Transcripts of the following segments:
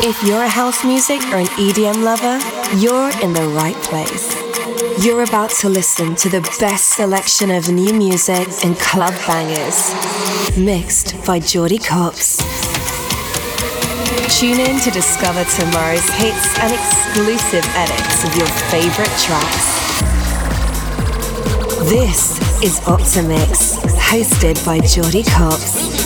If you're a house music or an EDM lover, you're in the right place. You're about to listen to the best selection of new music and club bangers, mixed by Jordy Copz. Tune in to discover tomorrow's hits and exclusive edits of your favorite tracks. This is Optimix, hosted by Jordy Copz.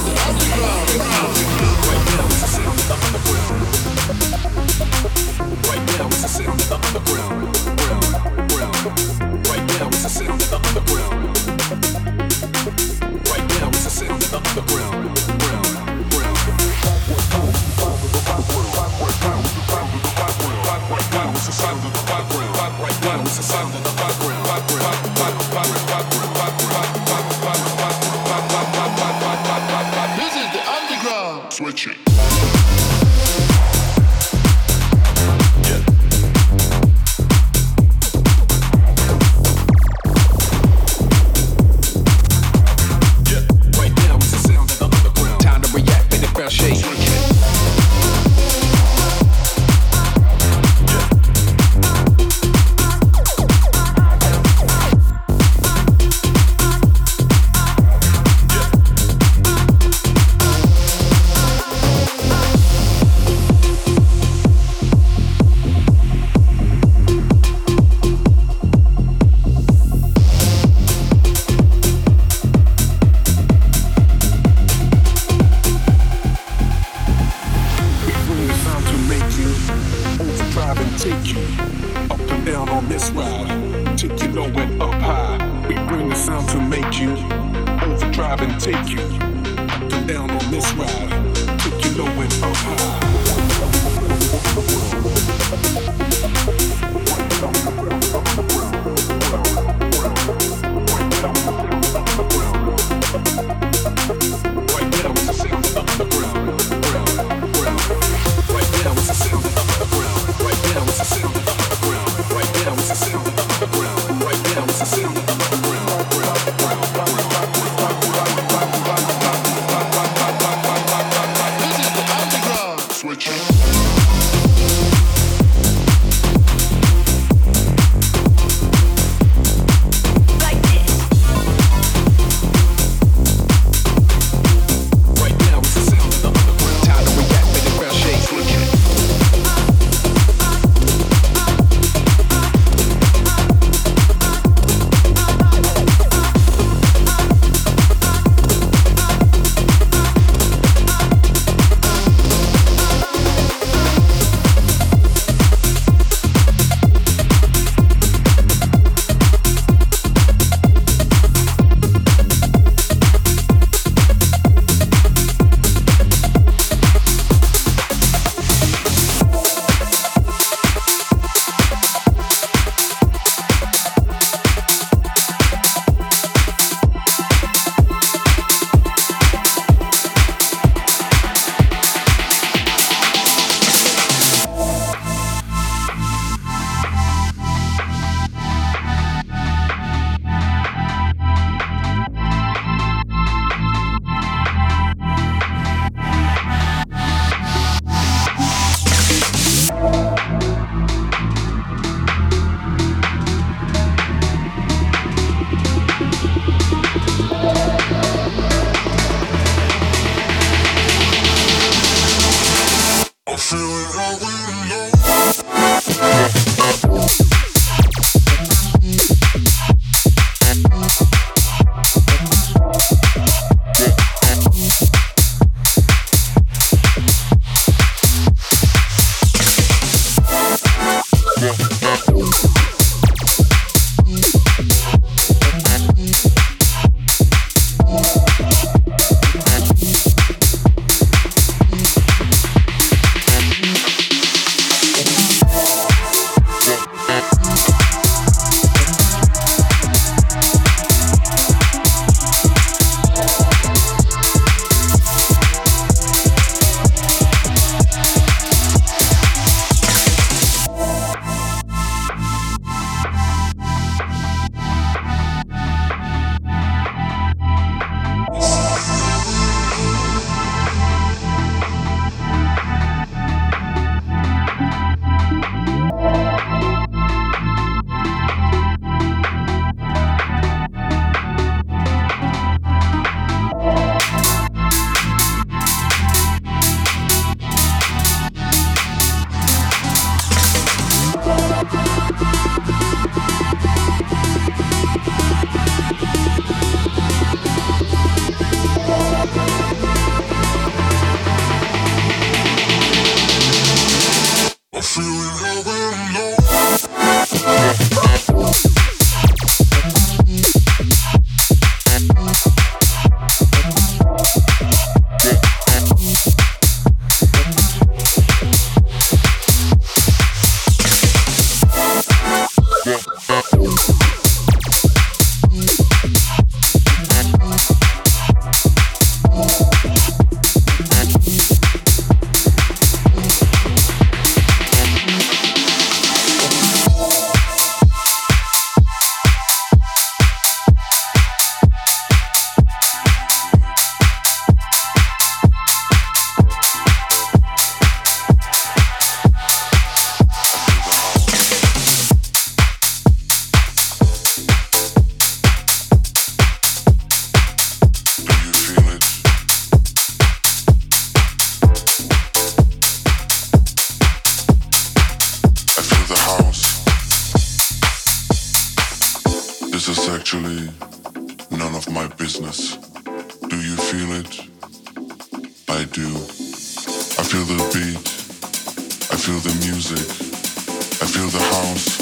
actually none of my business. Do you feel it? I do. I feel the beat. I feel the music. I feel the house.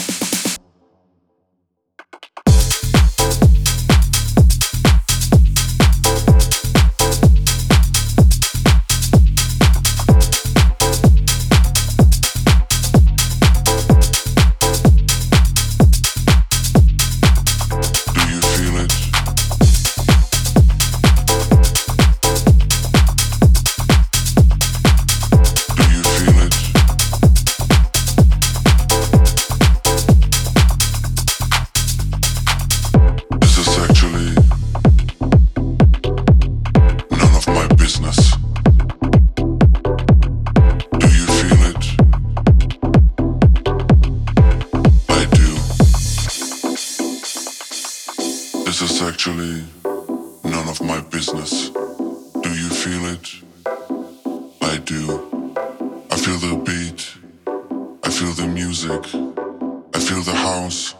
Actually, none of my business. Do you feel it? I do. I feel the beat. I feel the music. I feel the house.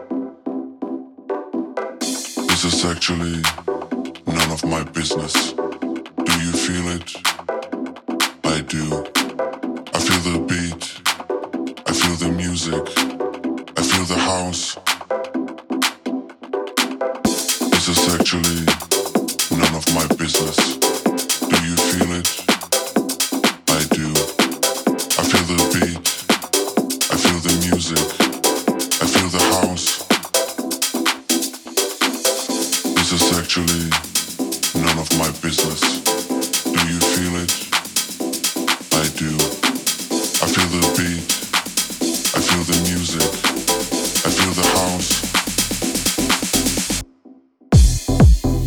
This is actually none of my business. Do you feel it? I do. I feel the beat. I feel the music. I feel the house. This is actually none of my business. Do you feel it? I do. I feel the beat. I feel the music. I feel the house. This is actually none of my business. Do you feel it? I do. I feel the beat. I feel the music. I feel the house.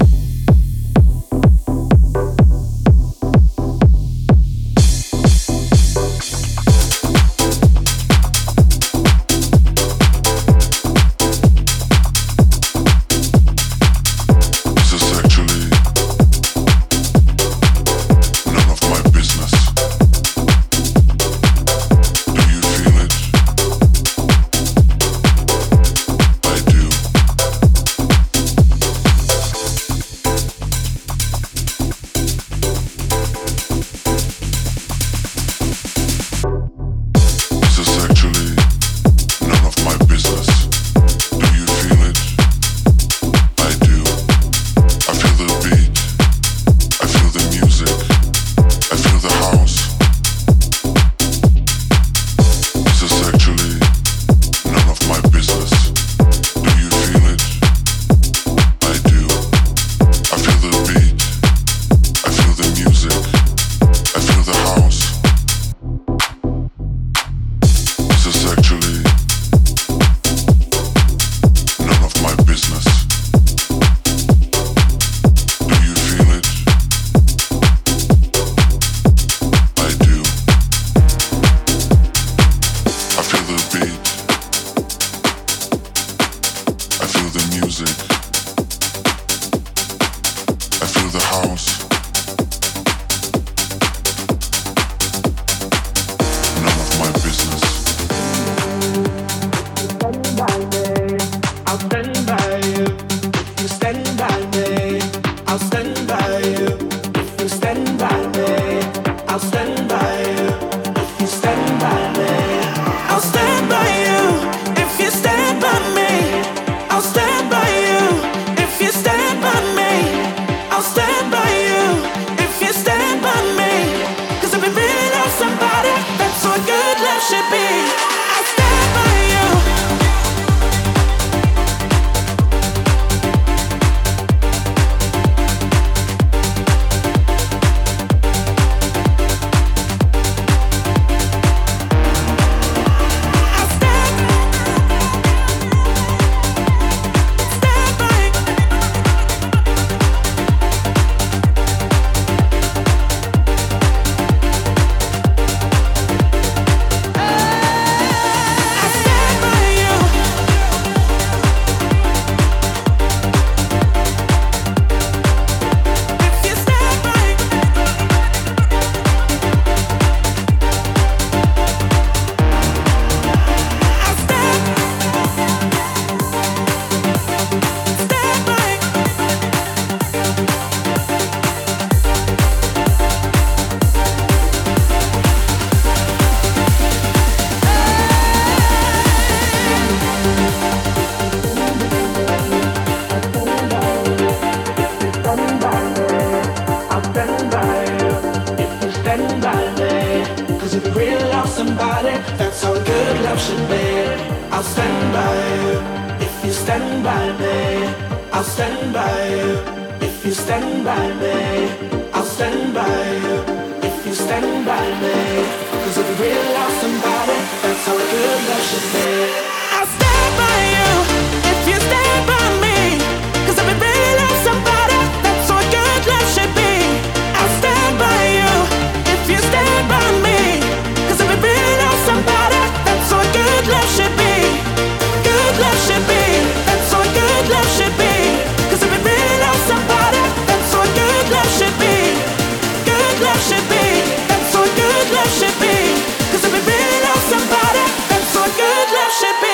lost somebody, that's how good love should be. I'll stand by you if you stand by me. I'll stand by you if you stand by me. I'll stand by you if you stand by me. 'Cause if you really lost somebody, that's how good love should be. I'll stand by you if you stand by me. 'Cause if you really love somebody, that's how good love should be. I'll stand by you if you stand by me. 'Cause if you really love somebody, that's how good love should be. Good love should be. That's how good love should be. 'Cause if you really love somebody, that's how good love should be. Good love should be. That's how good love should be. 'Cause if you really love somebody, that's how good love should be.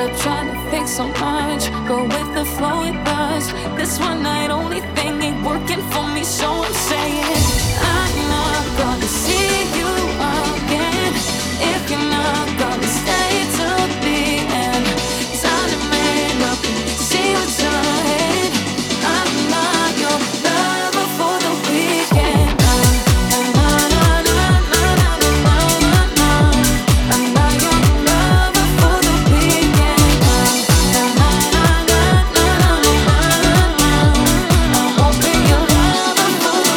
Stop trying to fix so much. Go with the flow it does. This one night only thing ain't working for me, so I'm saying I'm not gonna see you again if you're not gonna stay till the end. Time to make up and see what's ahead. I'm not your lover for the weekend. I'm not your lover for the weekend. I won't be your lover for the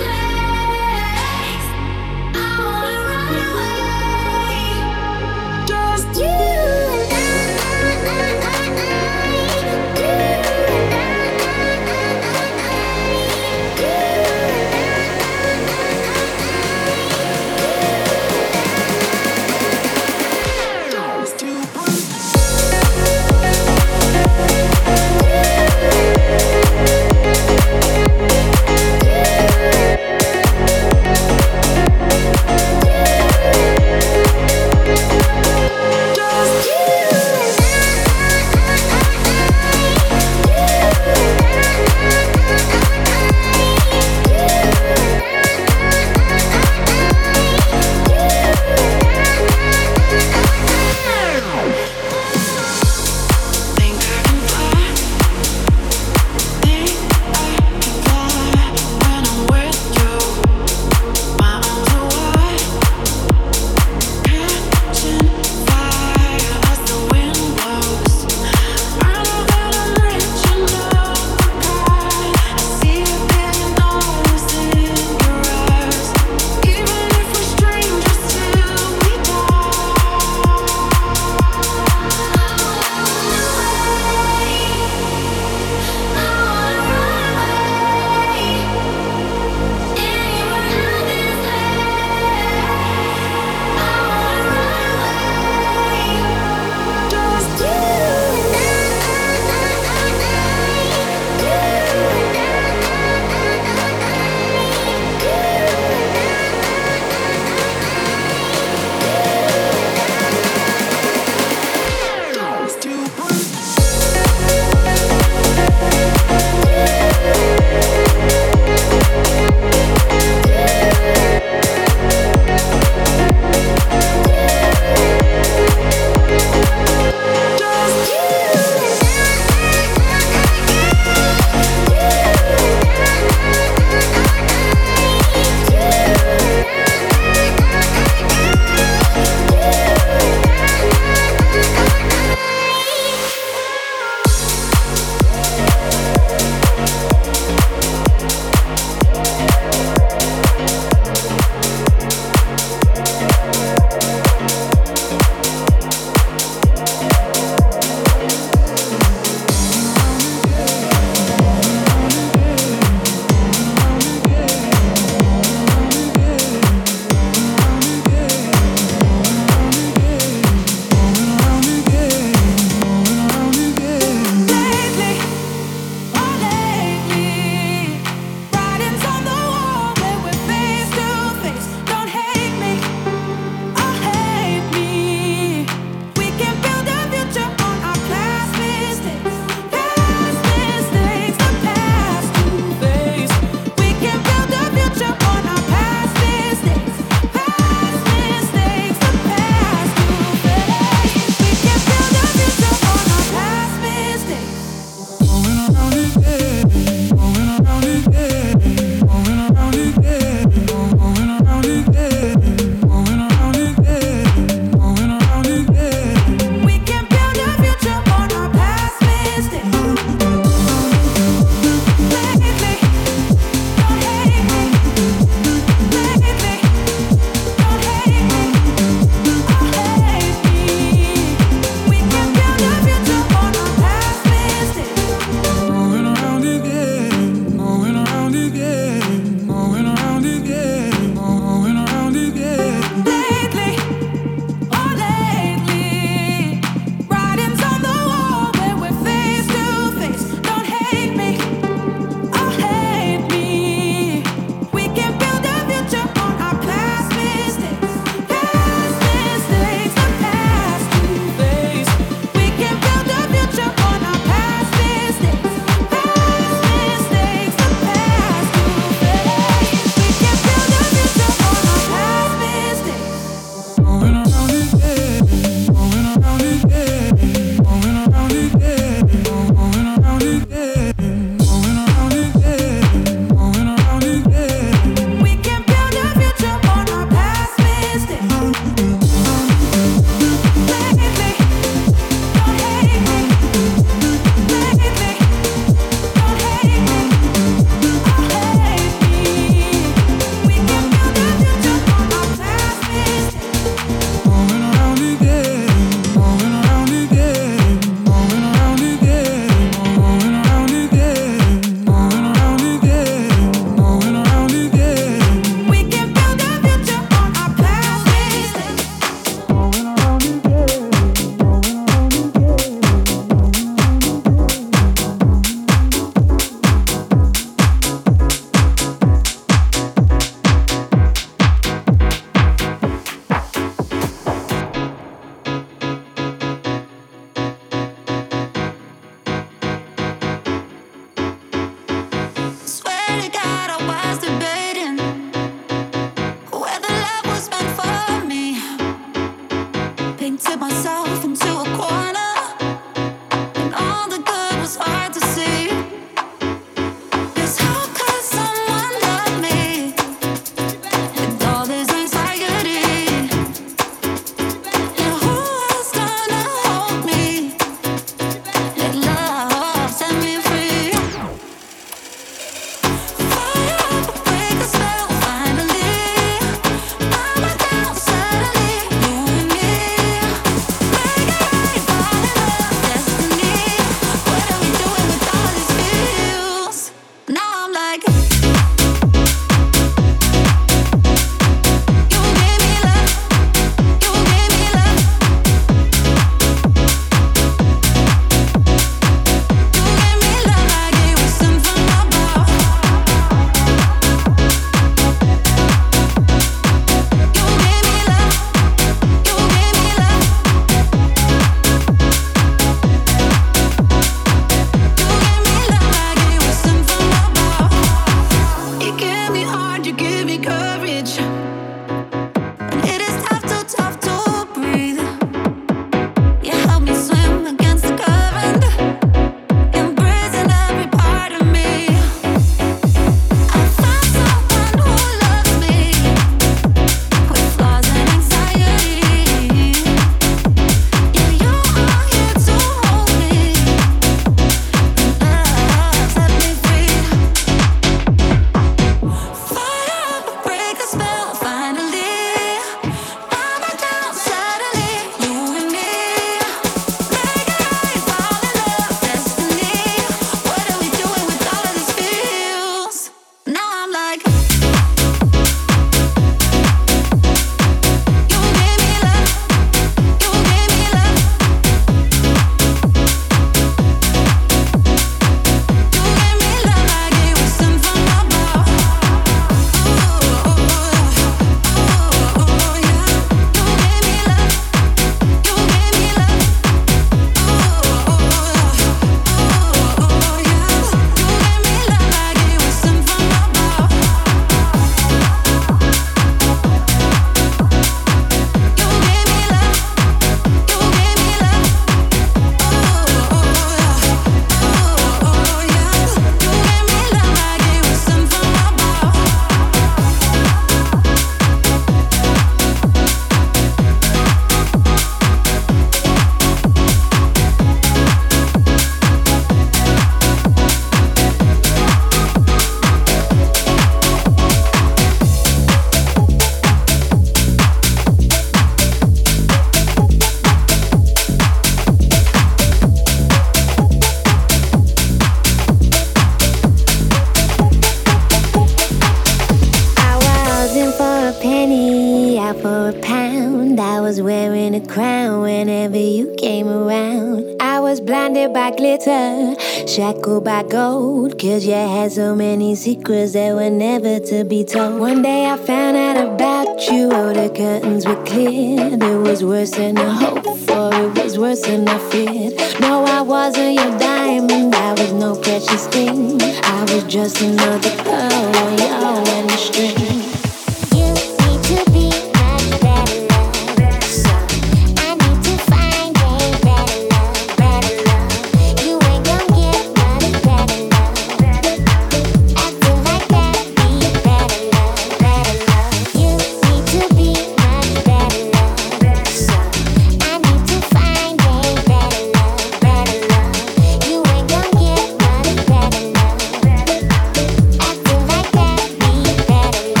out for a pound. I was wearing a crown whenever you came around. I was blinded by glitter, shackled by gold, 'cause you had so many secrets that were never to be told. One day I found out about you, oh, the curtains were cleared. It was worse than I hoped for, it was worse than I feared. No, I wasn't your diamond, I was no precious thing. I was just another pearl on your wedding string. You need to be much better love, so I need to find a better love. You ain't gon' get much better love. Acting like that, be better love. You need to be much better love, so I need to find a better love. You ain't gon' get much better love. Acting like that, be better love.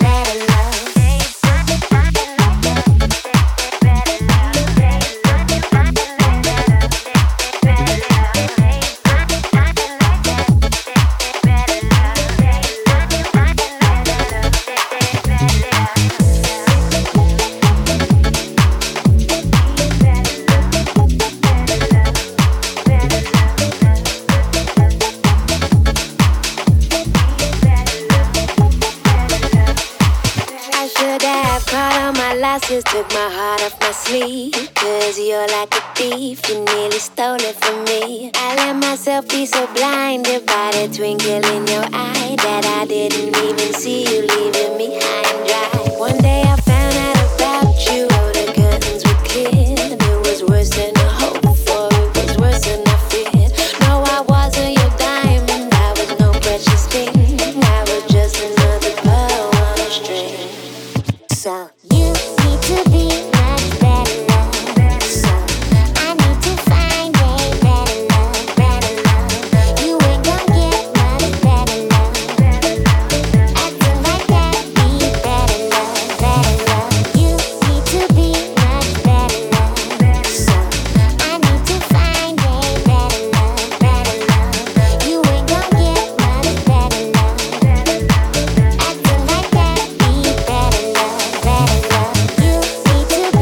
I should have caught all my losses, took my heart off my sleeve. 'Cause you're like a thief, you nearly stole it from me. I let myself be so blinded by the twinkle in your eye that I didn't even see you leaving me high and dry. One day I found out about you, oh, the curtains were cleared. It was worse than I hoped for, it was worse than I feared. No, I wasn't your diamond, I was no precious thing. I was just another pearl on a string. So you need to be much better love. So I need to find a better love. You ain't gon' get much better love. Acting like that, be better love. You need to be much better love. So I need to find a better love. You ain't gon' get much better love. Acting like that, be better love. You need to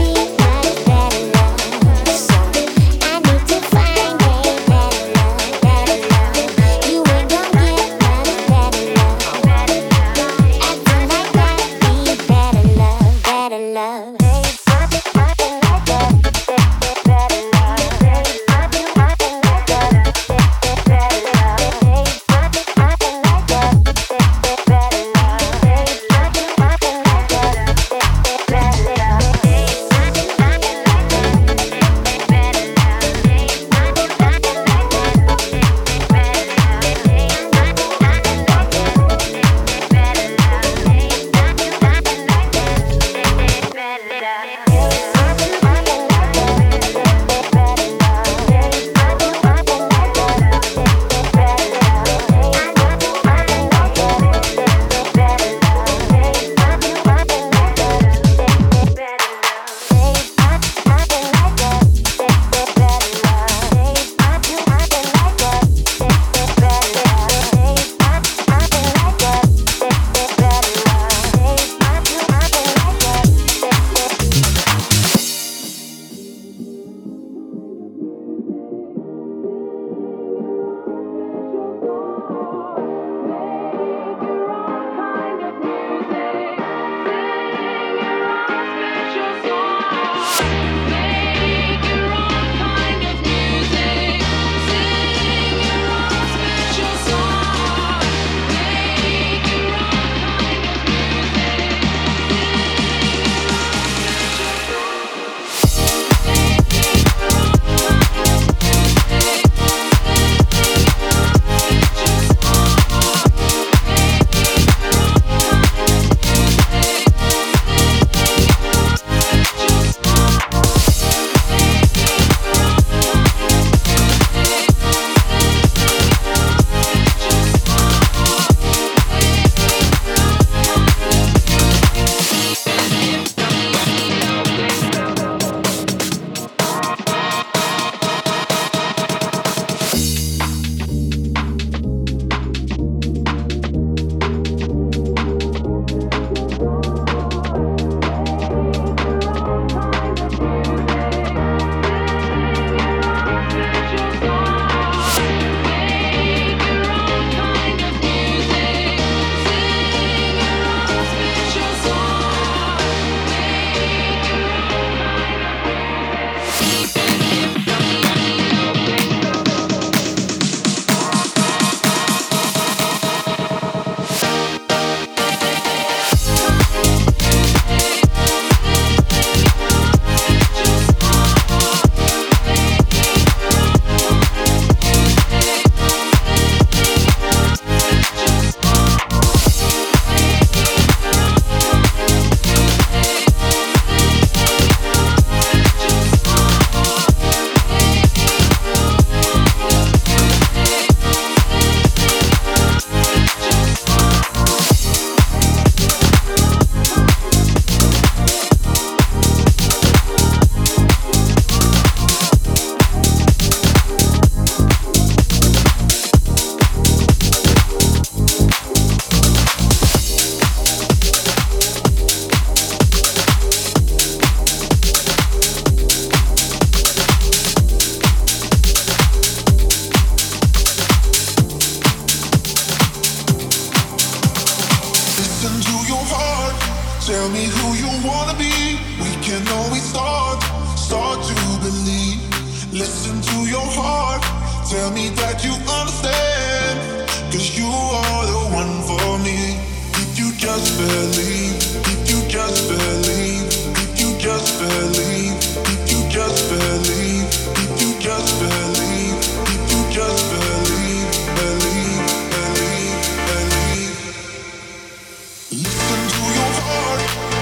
you wanna be. We can always start to believe. Listen to your heart, tell me that you understand. 'Cause you are the one for me. If you just believe, if you just believe, if you just believe, if you just believe, if you just believe, if you just believe, believe, believe, believe. Listen to your heart.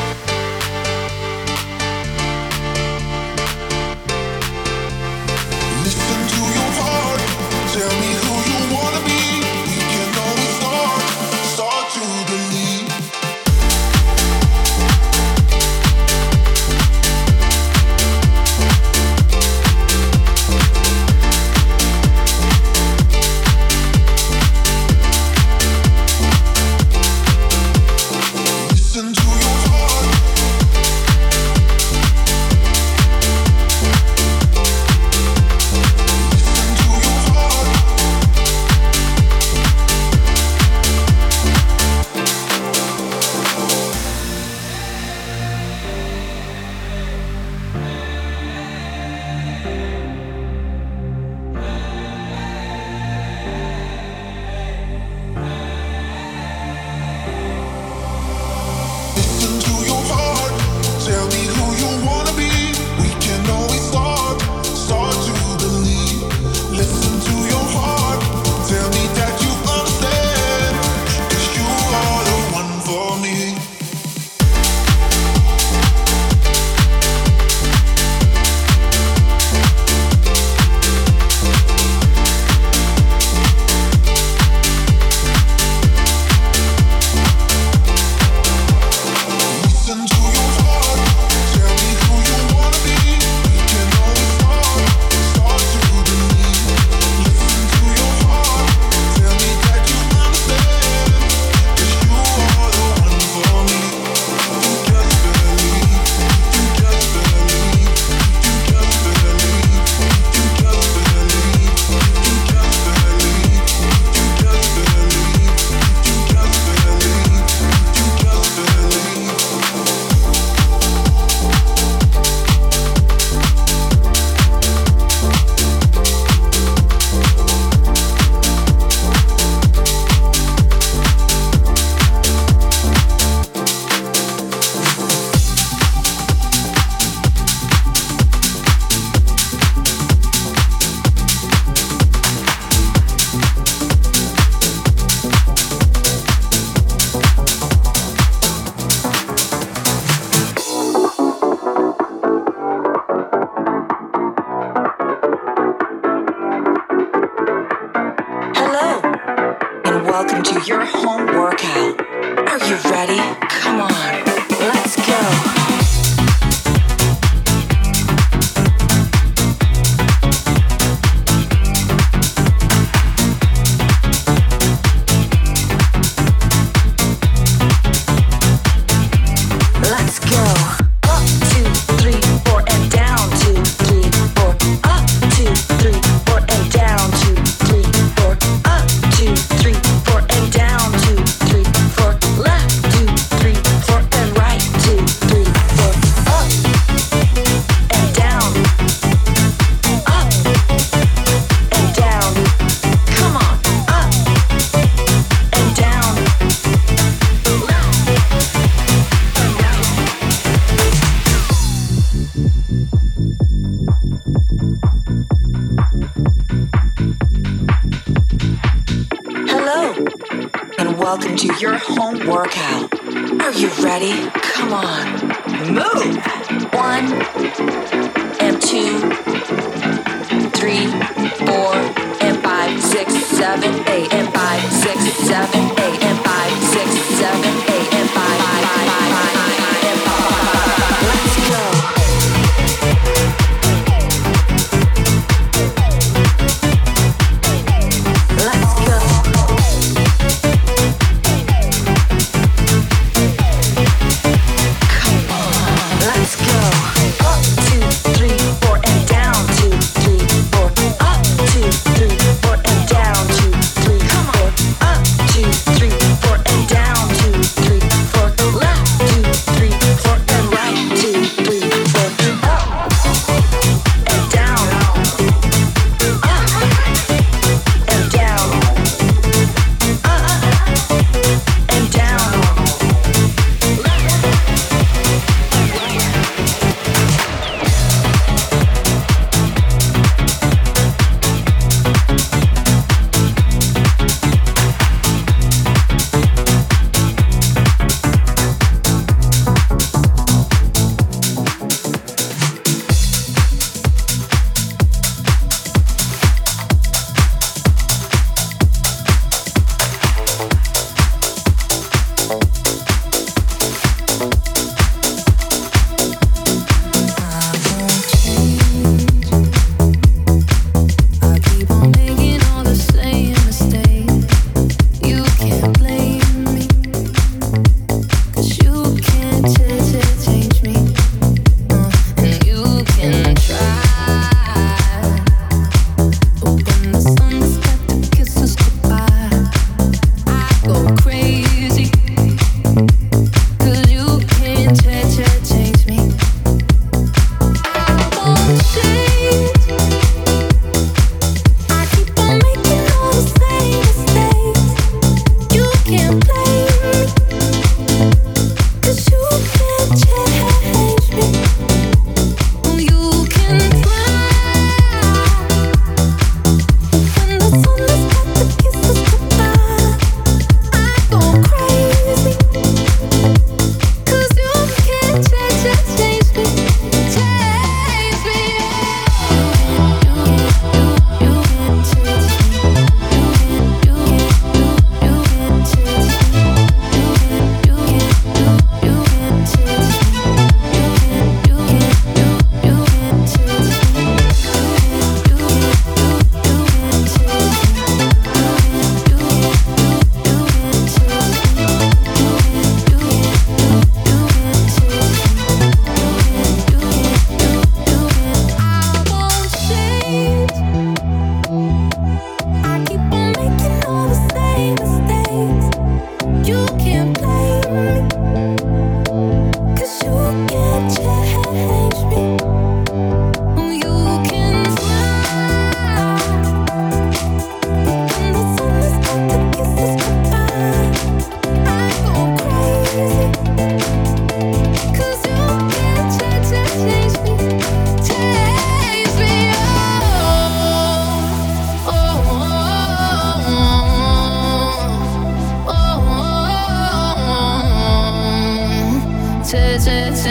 Listen to your heart. Tell me who you wanna be. We can always start to believe. Listen to your heart. Listen to your heart. Listen to your heart. Tell me who you wanna be. We can always start to believe. Listen to your heart. Tell me that you understand. 'Cause you are the one for me. Listen to your heart. Tell me who you wanna be. We can always start to believe. Listen to your heart. Tell me that you understand. 'Cause you are the one for me. You just believe. You just believe. You just believe. You just believe. You just believe. You just believe. You just believe. You just believe. Hello, and welcome to your home workout. Are you ready? Come on, let's go. Let's go. Up, 2, 3, 4, and down. 2, 3, 4. Up, 2, 3, 4, and down. 2, 3, 4. Up, 2, 3, 4, and down. 2, 3, 4. Left, 2, 3, 4, and right. 2, 3, 4. Up and down. Up and down. Come on. Up and down. Left and down. Hello, and welcome to your home workout. Are you ready? Come on, move. 1 and 2, 3, 4, and 5, 6, 7, 8, and 5, 6, 7, 8, and 5, 6, 7, 8, and 5, 5, 5, 5, 5, and 5. Let's go. Let's go. Come on, let's go. Up, 2, 3, 4, and down. 2, 3, 4. Up, 2, 3, 4, and down. 2, 3, 4. Up, 2, 3, 4, and down. 2,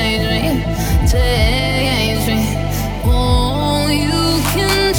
change me, change me. Oh, you can